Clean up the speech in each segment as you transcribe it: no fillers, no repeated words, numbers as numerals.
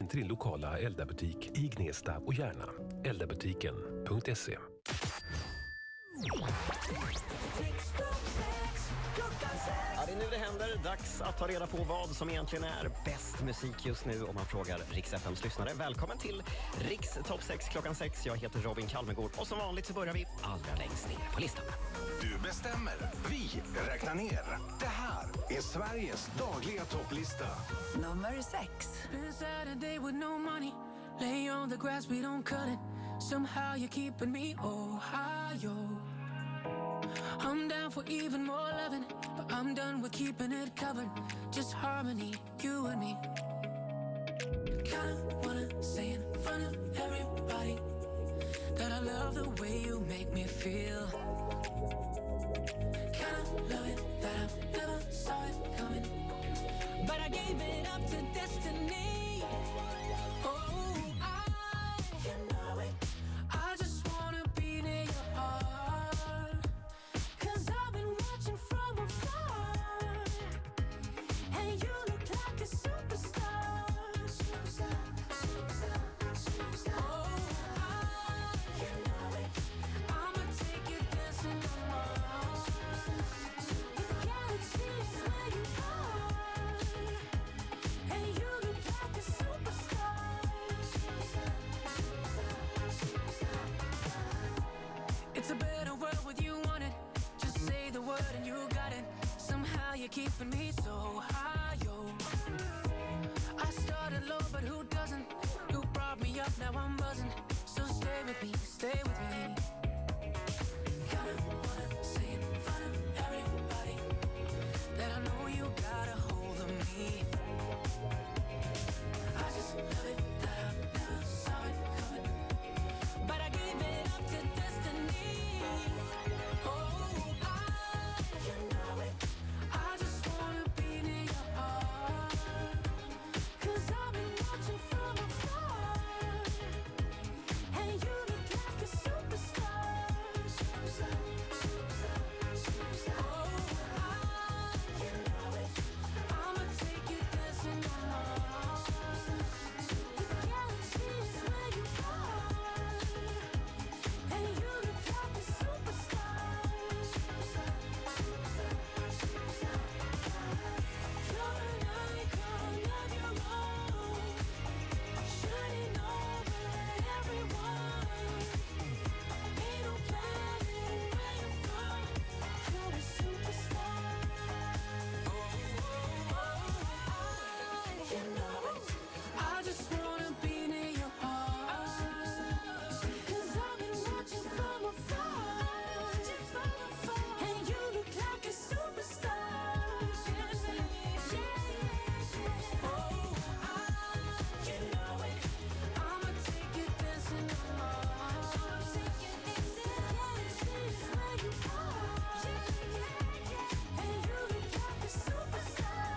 till din lokala Elda-butik i Gnesta och Järna. Eldabutiken.se. Ja, det är nu det händer. Dags att ta reda på vad som egentligen är bäst musik just nu om man frågar Rix FMs lyssnare. Välkommen till Rix Topp 6 klockan 6. Jag heter Robin Kalmegård och som vanligt så börjar vi allra längst ner på listan. Du bestämmer. Vi räknar ner. Det här är Sveriges dagliga topplista. Nummer 6. Been Saturday with no money. Lay on the grass, we don't cut it. Somehow you're keeping me Ohio. I'm down for even more loving, but I'm done with keeping it covered. Just harmony, you and me. Kinda wanna say in front of everybody that I love the way you make me feel. Kinda love it that I never saw it coming, but I gave it up to destiny. Oh, you know it. I just wanna be near your heart, 'cause I've been watching from afar, and you look like a superstar. Superstar, superstar, superstar. Oh, you know it. I'ma take you dancing on Mars. The galaxy is where you are, and you look like a superstar. Superstar, superstar, superstar. It's a better world with you on it. Just say the word and you got it. Somehow you're keeping me so high, yo. I started low, but who doesn't? You brought me up, now I'm buzzing. So stay with me, stay with me. Kinda wanna say in front of everybody that I know you got a hold of me. I just love it that I never saw it coming, but I gave it up to destiny. Oh, you know it. I just wanna be near your heart, 'cause I've been watching from afar, and you look like a superstar. Superstar, superstar, superstar. Oh, you know it. I'ma take you dancing on Mars. The galaxy is where you are, and you look like a superstar. Superstar, superstar, superstar. You're an icon of your own, shining over everyone. Ain't no planet where you're from. You're a superstar. You know it. I just wanna be near your heart, 'cause I've been watching from afar, and you look like a superstar. Oh, you know it. I'ma take you dancing on Mars. The galaxy is where you are, and you look like a superstar.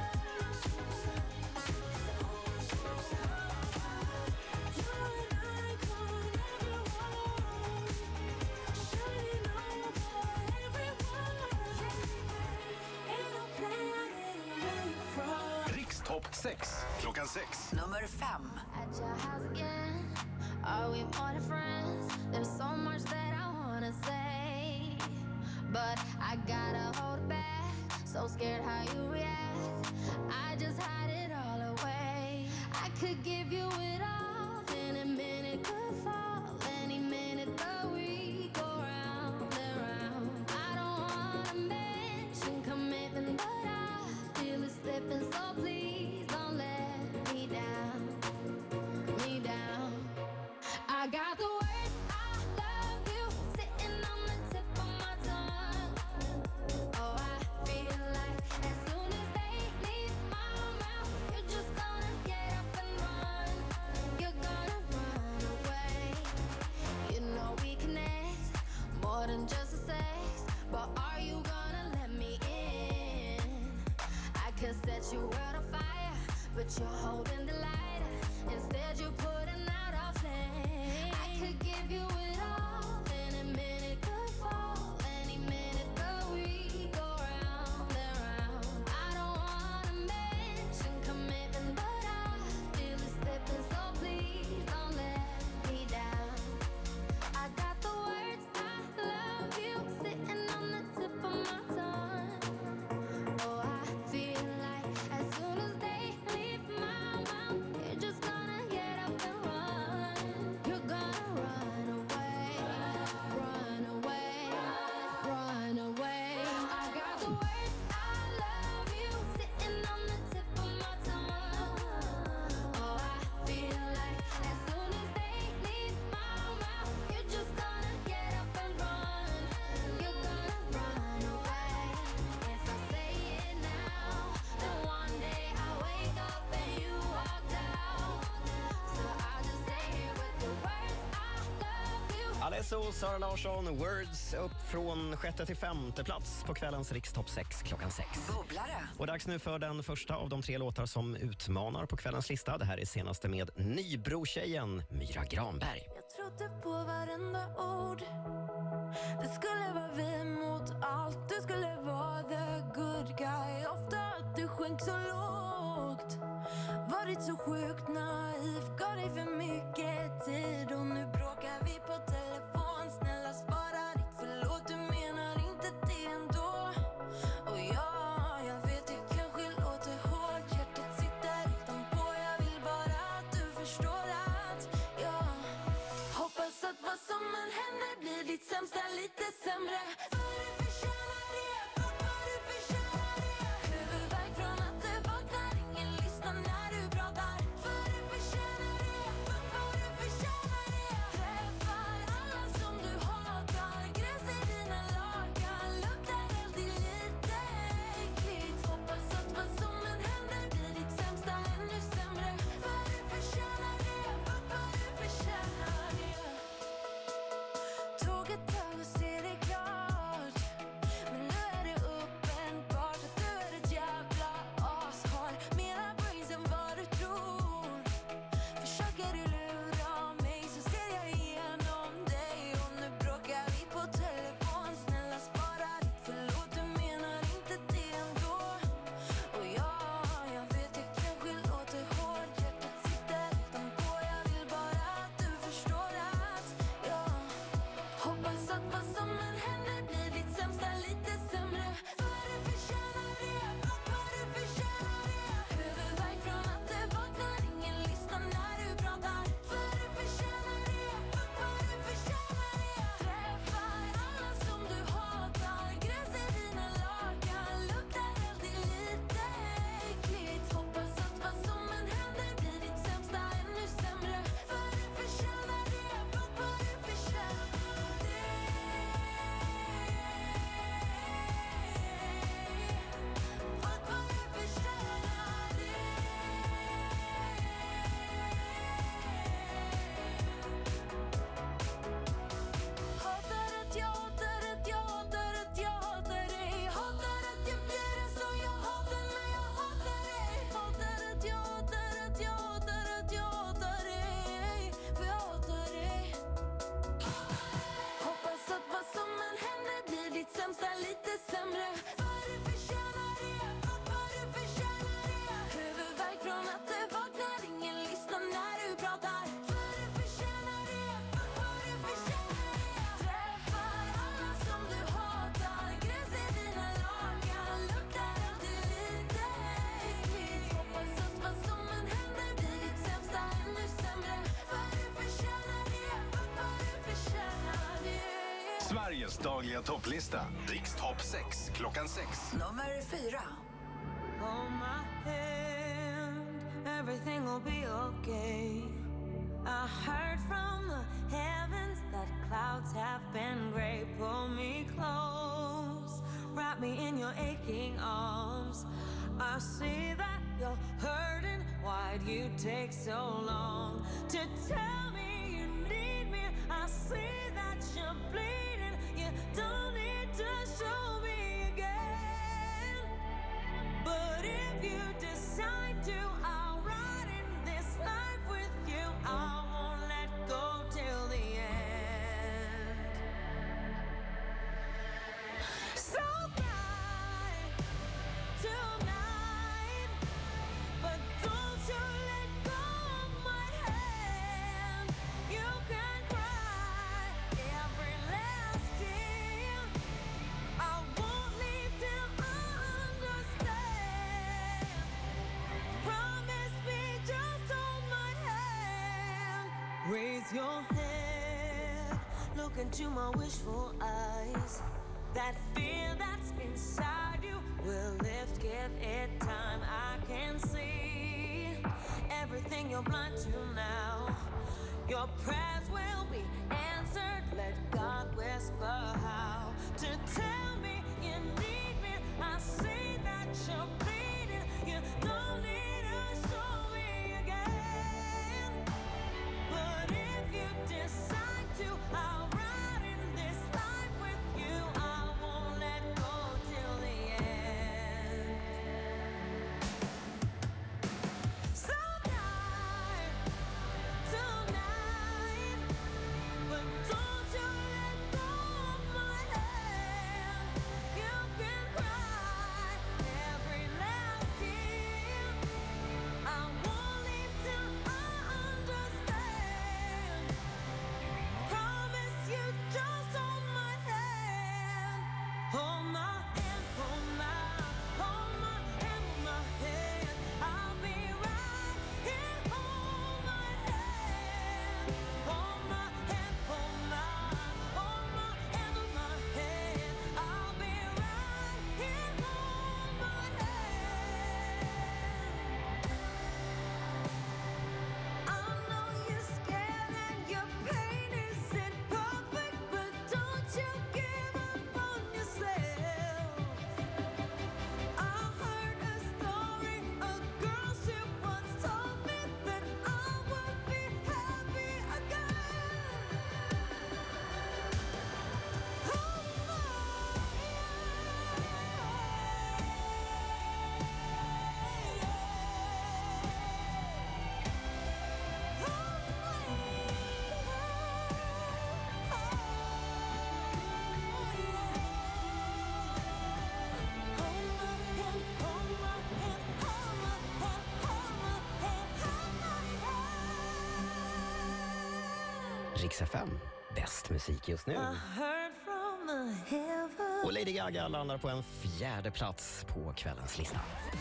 You're an icon of your own, shining over everyone. Ain't no planet where you're from. Rix Topp 6 klockan 6. Nummer 5. At your house again. Are we more than friends? There's so much that I wanna say, but I gotta hold back. So scared how you react. I just hide it all away. I could give you it all, then a minute could fall. Any minute the we go round and round. I don't wanna mention commitment, but I feel it slipping. So please don't let me down, me down. I got the words I love you sitting on the tip of my tongue. Oh, I feel like as soon as they leave my mouth, you're just gonna get up and run. You're gonna run away. You know we connect more than just a sex, but are you gonna let me in? I could set your world on fire, but you're holding the lighter. Instead you're putting out our flame. I could give you it all, then a minute could fall. Any minute the we go round and round. I don't wanna mention commitment, but I feel it slipping. So SO, Sara Larsson, Words upp från 6:e till 5:e plats på kvällens Rikstopp 6 klockan 6. Bubblare. Och dags nu för den första av de 3 låtar som utmanar på kvällens lista. Det här är senaste med Nybro-tjejen Myra Granberg. Jag trodde på varenda ord. Det skulle vara vi mot allt. Du skulle vara the good guy. Ofta att du sjönk så lågt. Varit så sjukt naiv. Gav dig för mycket tid. Och nu bråkar vi på telefon. Snälla spara ditt förlåt. Du menar inte det ändå. Och jag vet jag kanske låter hårt. Hjärtat sitter utanpå. Jag vill bara att du förstår att jag hoppas att vad som än händer blir ditt sämsta lite sämre. För du förtjänar det, för du förtjänar det. Huvudvärk från att du vaknar, ingen lyssnar när du pratar. För du förtjänar det, för du förtjänar det. Träffar alla som du hatar, gräs i dina lakan, luktar alltid lite äckligt. Hoppas att vad som än händer blir ditt sämsta ännu sämre. För du förtjänar det, för du förtjänar det. Tog ett tag och se det klart. Men nu är det uppenbart att du är ett jävla ashar. Mera brains än vad du tror. Försöker du lura mig så ser jag igenom dig. Och nu bråkar vi på telefon. Snälla spara ditt förlåt. Du menar inte det ändå. Och jag vet jag kanske låter hårt. Hjärtat sitter utanpå. Jag vill bara att du förstår att jag hoppas att vad som än händer blir ditt sämsta lite sämre. För du förtjänar det, för du förtjänar det. Huvudvärk från att du vaknar, ingen lyssnar när du pratar. För du förtjänar det, för du förtjänar det. Träffar alla som du hatar, gräs i dina lakan, luktar alltid lite äckligt. Hoppas att vad som än händer blir ditt sämsta ännu sämre. För du förtjänar det, för du förtjänar det. Fuck vad du förtjänar det. Hatar att jag hatar att jag hatar att jag hatar dig. Hatar att jag blir det så jag hatar när jag hatar dig. Hatar att jag hatar att jag hatar att jag hatar dig. För jag hatar dig. Hoppas att vad som än händer blir ditt sämsta lite sämre. För du förtjänar det, för du förtjänar det. Huvudvärk från att du vaknar, ingen lyssnar när du pratar. För du förtjänar det, för du förtjänar det. Träffar alla som du hatar, gräs i dina lakan, luktar alltid lite äckligt. Hoppas att vad som än händer blir ditt sämsta ännu sämre. För du förtjänar det, för du förtjänar det. Sveriges dagliga topplista. Rikstopp 6 klockan 6. Nummer 4. Hold my hand, everything will be okay. I heard from the heavens that clouds have been gray. Pull me close, wrap me in your aching arms. I see that you're hurting, why'd you take so long to tell me you need me? I see that you're bleeding, you don't need to show me again. But if you decide to, I'll ride in this life with you. I won't let go till the end. So cry tonight, but don't you let go of my hand. You can cry every last tear. I won't leave till I understand. Promise me, just hold my hand. Raise your head, look into my wishful eyes. That fear that's inside you will lift, give it time. I can see everything you're blind to now. Your prayers will be answered. Let God whisper how to tell me you need me. I see that you're bleeding. You don't need to show me again. But if you decide to, I'll ride Rix FM. Bäst musik just nu. Och Lady Gaga landar på en 4:e plats på kvällens lista.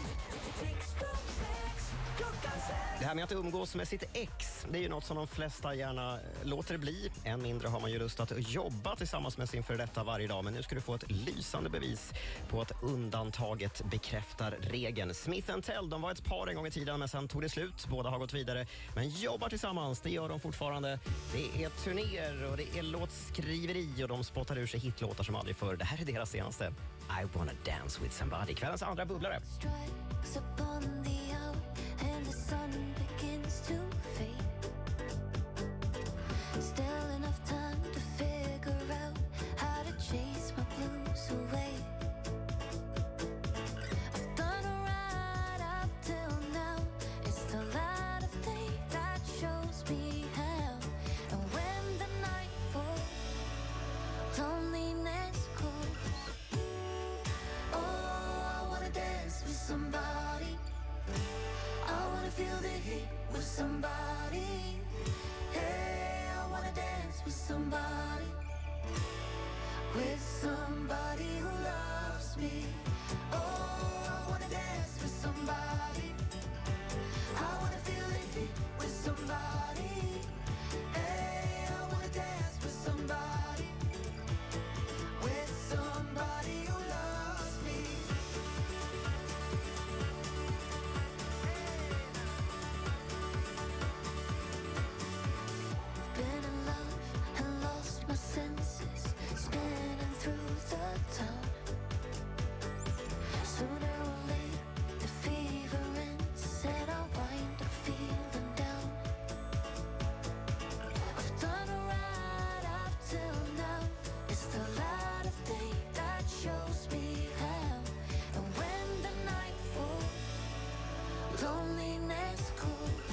Det här med att umgås med sitt ex, det är ju något som de flesta gärna låter bli. Än mindre har man ju lust att jobba tillsammans med sin föredetta varje dag. Men nu ska du få ett lysande bevis på att undantaget bekräftar regeln. Smith & Tell, de var ett par en gång i tiden, men sen tog det slut. Båda har gått vidare, men jobbar tillsammans, det gör de fortfarande. Det är turnéer och det är låtskriveri och de spottar ur sig hitlåtar som aldrig förr. Det här är deras senaste I wanna dance with somebody. Kvällens andra bubblare. Strikes upon the hour and the sun begins to fade. Still enough time to figure out how to chase my blues away. I've done right up till now. It's the light of day that shows me how. And when the night falls, loneliness calls. Oh, I wanna dance with somebody. I wanna feel the heat with somebody. Hey, I wanna dance with somebody. With somebody who loves me. Oh, I wanna dance with somebody. I wanna feel the heat with somebody. Hey, I wanna dance with somebody. With somebody who loves me. Been in love and lost my senses, spinning through the town. Sooner or later, the fever ends and I wind up feeling down. I've done right up till now. It's the light of day that shows me how. And when the night falls, loneliness calls.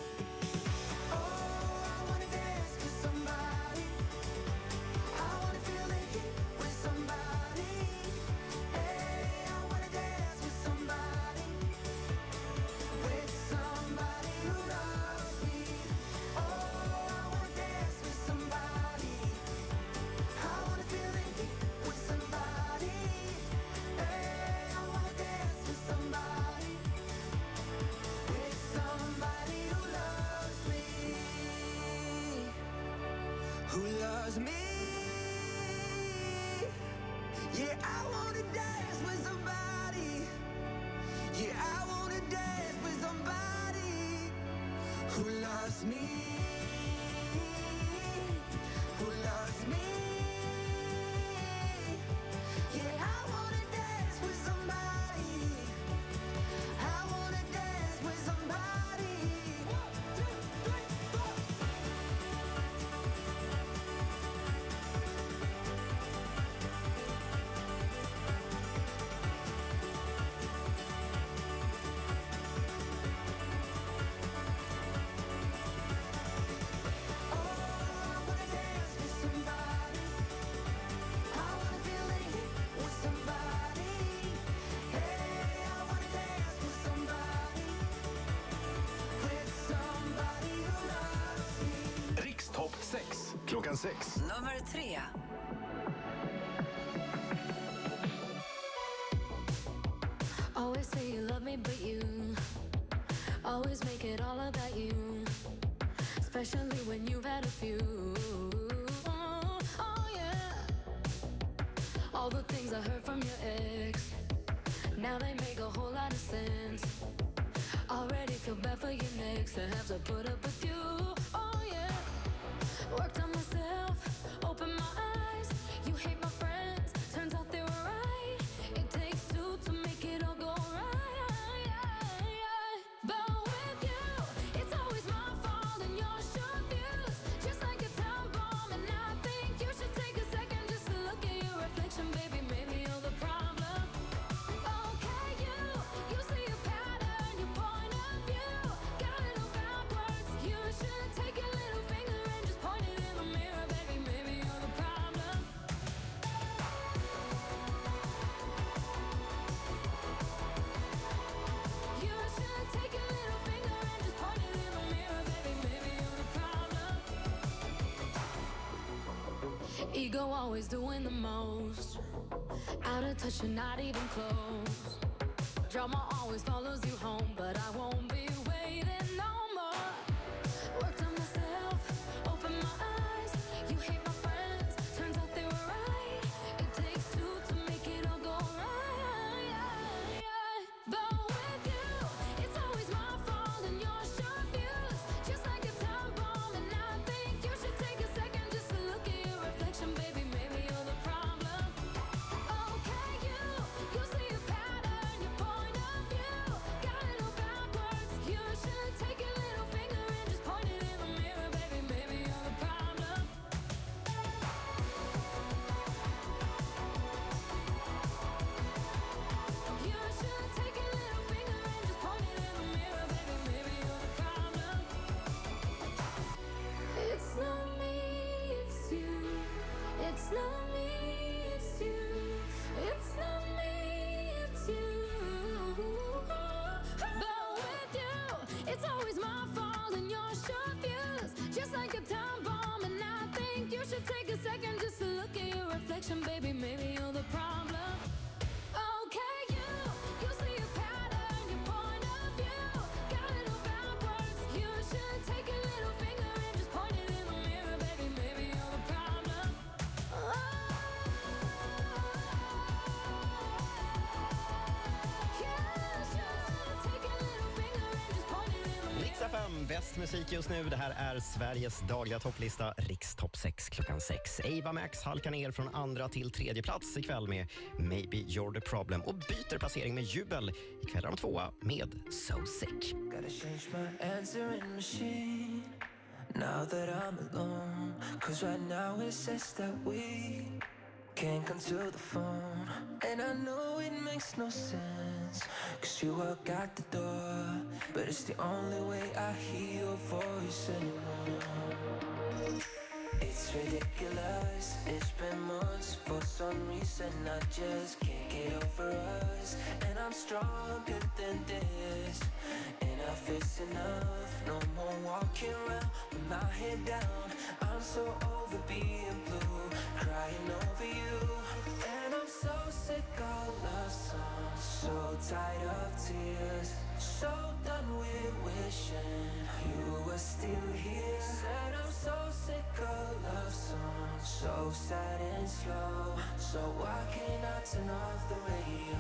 Oh, I wanna dance with somebody. I wanna feel the heat with somebody. Hey, I wanna dance with somebody. With somebody who loves me. Oh, I wanna dance with somebody. I wanna feel the heat with somebody. Hey, I wanna dance with somebody. With somebody who loves me. Who loves me? Yeah, I wanna dance with somebody. Yeah, I wanna dance with somebody who loves me. Who loves me? Yeah, I wanna dance with somebody. I wanna dance with somebody. 1, 2, 3, 4. Oh, I wanna dance with somebody. I wanna feel the heat with somebody. Hey, I wanna dance with somebody. With somebody who loves me. Rikstopp 6 klockan 6. Nummer 3. Always say you love me, but you always make it all about you. Especially when you've had a few. Oh yeah. All the things I heard from your ex, now they make a whole lot of sense. Already feel bad for your next to have to put up with you. Oh yeah. Worked on myself, opened my eyes. You hate my friends, turns out they were right. It takes two to make it all go right. But with you, it's always my fault and your short views, just like a time bomb. And I think you should take a second just to look at your reflection, baby. Maybe you're the problem. Okay, you see a pattern, your point of view got it all backwards. You should Ego always doing the most. Out of touch and not even close. Drama always follows you home, but I won't be waiting no more. Worked on myself, open my eyes. You hate my friends, turns out they were right. It takes two to make it all go right. But with you, it's always my fault and your short views. Just like a time bomb, and I think you should take a second just to look at your reflection, baby. Maybe you're the problem. Okay, you see a pattern, your point of view. Got it all backwards. You should take your little finger and just point it in the mirror, baby. Maybe you're the problem. You should take your little finger and just point it in the mirror, baby. Maybe you're the problem. It's not me, it's you. It's not me, it's you. It's not me, it's you. But with you, it's always my fault and your short views. Just like a time bomb, and I think you should take a second just to look at your reflection, baby. Maybe you're the problem. Okay, you see a pattern, your point of view. Got it all backwards. You should take your little finger and just point it in the mirror, baby. Maybe you're the problem. Rix FM, bäst musik just nu. Det här är Sveriges dagliga topplista, Rix Topp 6 klockan 6. Ava Max halkar ner från andra till tredje plats ikväll med Maybe You're the Problem och byter placering med Jubel. Ikväll är de tvåa med So Sick. Gotta change my answering machine now that I'm alone. Cause right now it says that we can't come to the phone. And I know it makes no sense, cause you walk out the door, but it's the only way I hear your voice anymore. It's ridiculous, it's been months. For some reason I just can't get over us. And I'm stronger than this. Enough is enough, no more walking around with my head down. I'm so over being blue, crying over you. And I'm so sick of love songs, so tired of tears, so done with wishing you were still here. Said I'm so sick of love songs, so sad and slow. So why can't I turn off the radio?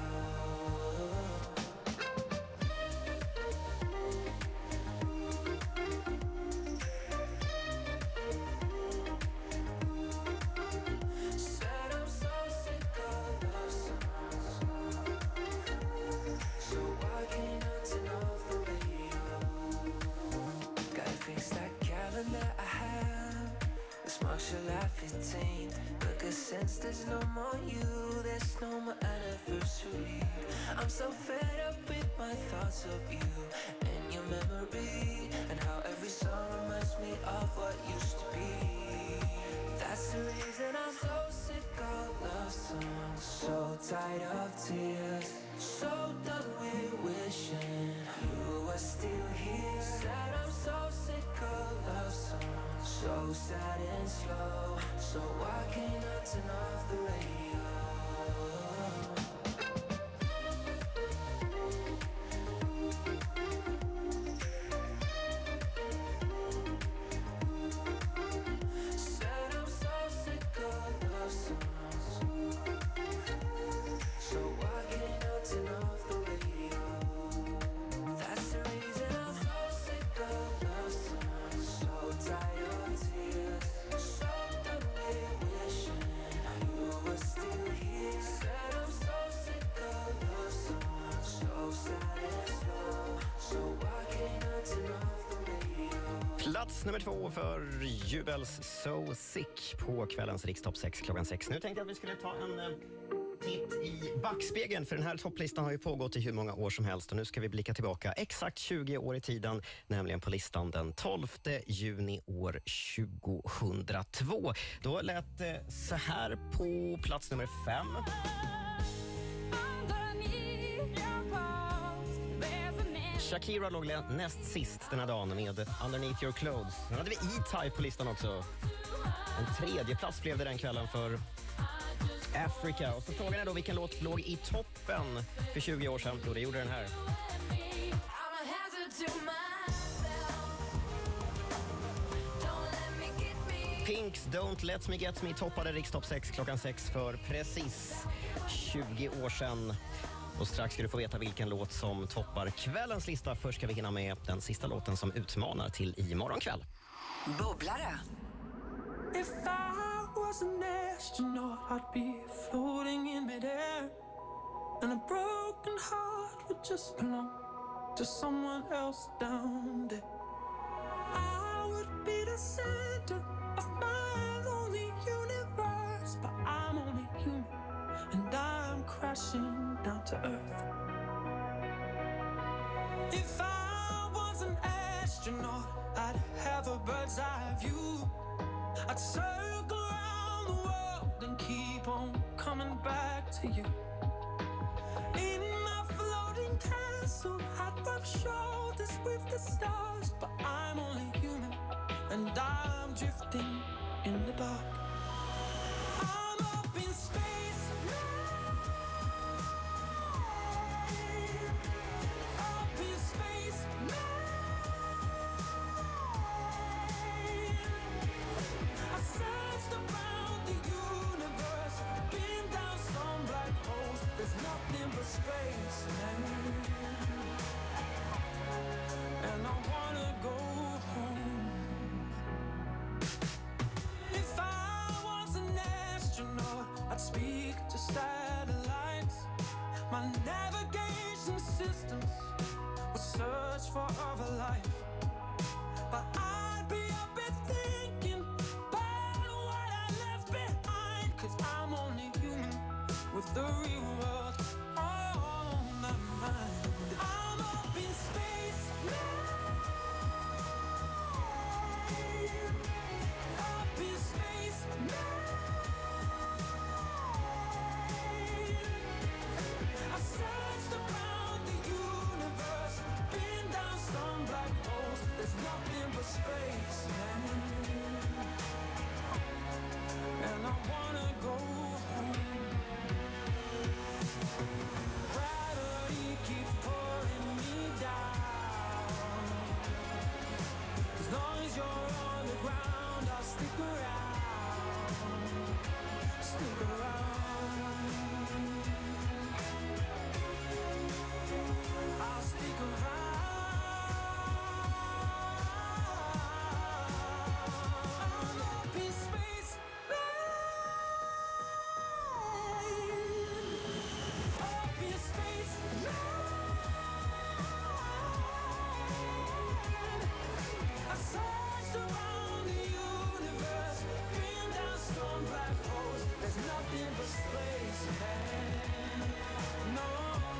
July 15th, because since there's no more you, there's no more anniversary. I'm so fed up with my thoughts of you and your memory, and how every song reminds me of what used to be. That's the reason I'm so sick of love songs, so tired of tears, so done with wishing you were still here. Said I'm so sick of love songs, so sad and slow. So why can't I turn off the radio? Said I'm so sick of love songs, so why can't I turn off the radio? That's the reason I'm so sick of love songs, so tired of tears, so done with wishing you were still here. Said I'm so sick of love songs, so sad and slow. So why can't I turn off the radio? Plats nummer 2 för Jubels So Sick på kvällens Rix Topp 6 klockan 6. Nu tänkte jag att vi skulle ta en titt i backspegeln, för den här topplistan har ju pågått i hur många år som helst, och nu ska vi blicka tillbaka exakt 20 år i tiden, nämligen på listan den 12 juni år 2002. Då lät det så här på plats nummer 5. Shakira låg näst sist den här dagen med Underneath Your Clothes. Sen hade vi E-Type på listan också. En tredje plats blev det den kvällen för Africa. Och så frågan är då vilken låt låg i toppen för 20 år sedan. Och det gjorde den här. Pinks Don't Let Me Get Me toppade Rikstopp 6 klockan 6 för precis 20 år sedan. Och strax ska du få veta vilken låt som toppar kvällens lista. Först ska vi hinna med den sista låten som utmanar till imorgon kväll. Bubblare. If I was an astronaut, I'd be floating in midair, and a broken heart would just belong to someone else down there. I would be the center of my lonely universe, but I'm only human, and I'm crashing down to earth. If I was an astronaut, I'd have a bird's eye view. I'd circle around the world and keep on coming back to you. In my floating castle, I'd rub shoulders with the stars, but I'm only human, and I'm drifting in the dark. I'm up in space, up in space, I searched around the universe, been down some black holes. There's nothing but space, man. And I wanna go home. If I was an astronaut, I'd speak to satellites. My navigation systems would search for other life, but I'd be up and thinking about what I left behind, 'cause I'm only human with the real world on my mind. I'm up in space, up in space, I searched around the universe, been down some black holes. There's nothing but space, man. And I wanna go home. Gravity keeps pulling me down. As long as you're on the ground, I'll stick around. Stick around. I'll stick around. I'm up in space, up in space, I searched around the universe, been down some black holes. There's nothing but space, man. No,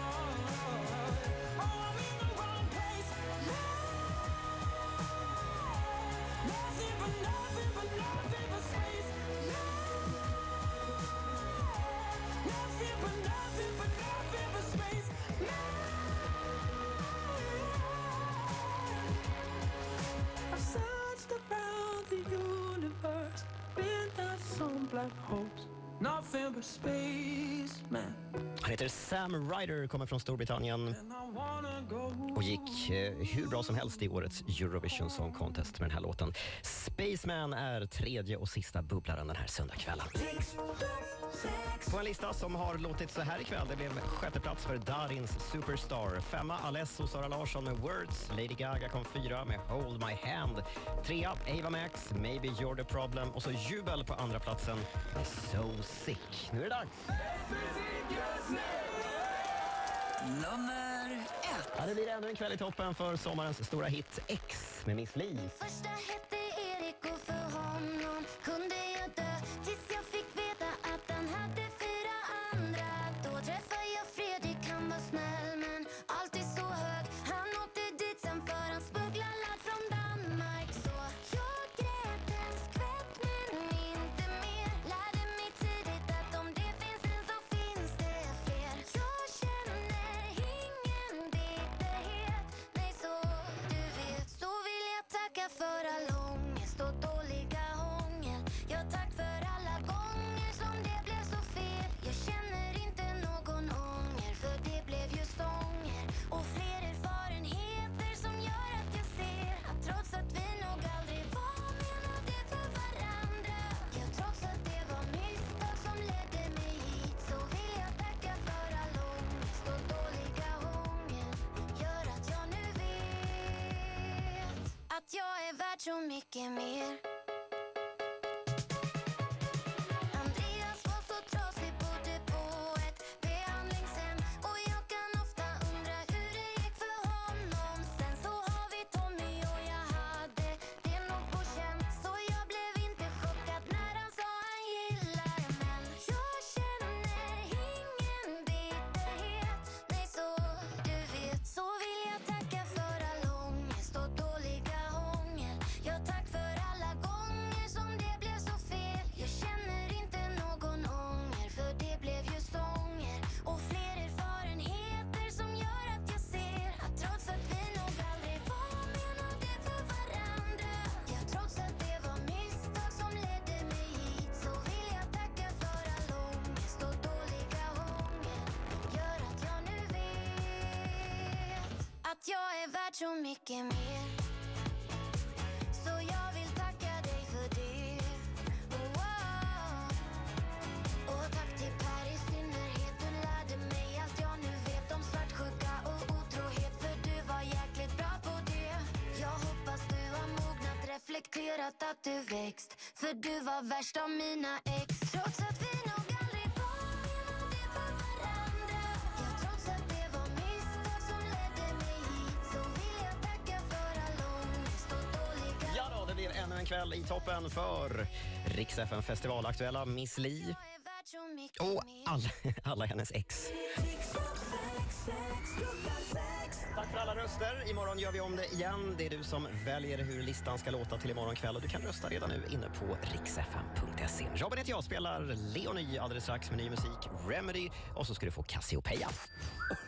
oh, I'm in the wrong place. Nothing but nothing but nothing but space. Nothing but nothing but nothing but space. I've searched around the universe, been down some black holes. Nothing but space, man. Han heter Sam Ryder, kommer från Storbritannien And I wanna go. och gick hur bra som helst i årets Eurovision Song Contest med den här låten. Spaceman är tredje och sista bubblaren den här söndagskvällen. På en lista som har låtit så här ikväll, det blev sjätte plats för Darins Superstar. Femma Alesso Sara Larsson med Words. Lady Gaga kom fyra med Hold My Hand. Trea Ava Max, Maybe You're The Problem. Och så jubel på andra platsen med So Sick. Nu är det dags. Nummer 1. Ja, det blir ännu en kväll i toppen för sommarens stora hit X med Miss Li. Första hette Erik och för honom kunde jag dö tills jag fick veta att han hade 4 andra. Då träffade jag Fredrik, han var snäll men alltid så hög. Han åkte dit sen för han smugglade ladd från Danmark. Så jag grät en skvätt men inte mer. Lärde mig tidigt att om det finns en så finns det fler. Jag känner ingen bitterhet när så mycket mer. Jag är värd så mycket mer. Så jag vill tacka dig för det. Och tack till Per i synnerhet. Du lärde mig allt jag nu vet om svartsjuka och otrohet. För du var jäkligt bra på det. Jag hoppas du har mognat, reflekterat att du växt. För du var värst av mina ex. Trots att vi nog aldrig var menade för varandra. Ja, trots att det var misstag som ledde mig hit. Så vill jag tacka för all ångest och dåliga... Ja då, det blir ännu en kväll i toppen för Rix FM festivalaktuella Miss Li. Jag är värd så mycket Och mer. alla hennes ex. Tack för alla röster. Imorgon gör vi om det igen. Det är du som väljer hur listan ska låta till imorgon kväll. Och du kan rösta redan nu inne på riksfm.se. Robin heter jag, spelar Leonie alldeles strax med ny musik, Remedy. Och så ska du få Cassiopeia.